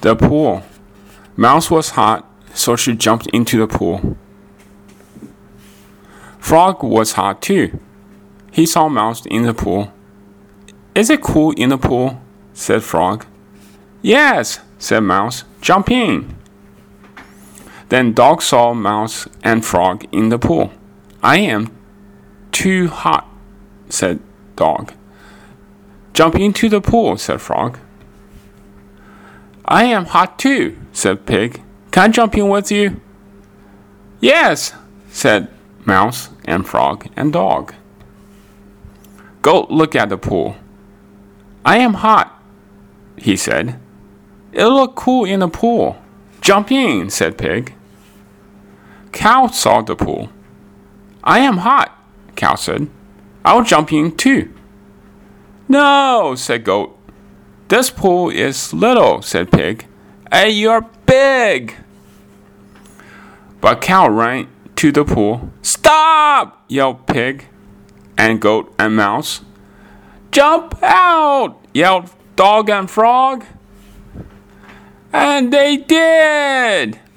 The pool. Mouse was hot, so she jumped into the pool. Frog was hot too. He saw Mouse in the pool. Is it cool in the pool? Said Frog. Yes, said Mouse. Jump in. Then Dog saw Mouse and Frog in the pool. I am too hot, said Dog. Jump into the pool, said Frog. I am hot too, said Pig. Can I jump in with you? Yes, said Mouse and Frog and Dog. Goat looked at the pool. I am hot, he said. It'll look cool in the pool. Jump in, said Pig. Cow saw the pool. I am hot, Cow said. I'll jump in too. No, said Goat. This pool is little, said Pig. Hey, you're big. But Cow ran to the pool. Stop, yelled Pig and Goat and Mouse. Jump out, yelled Dog and Frog. And they did.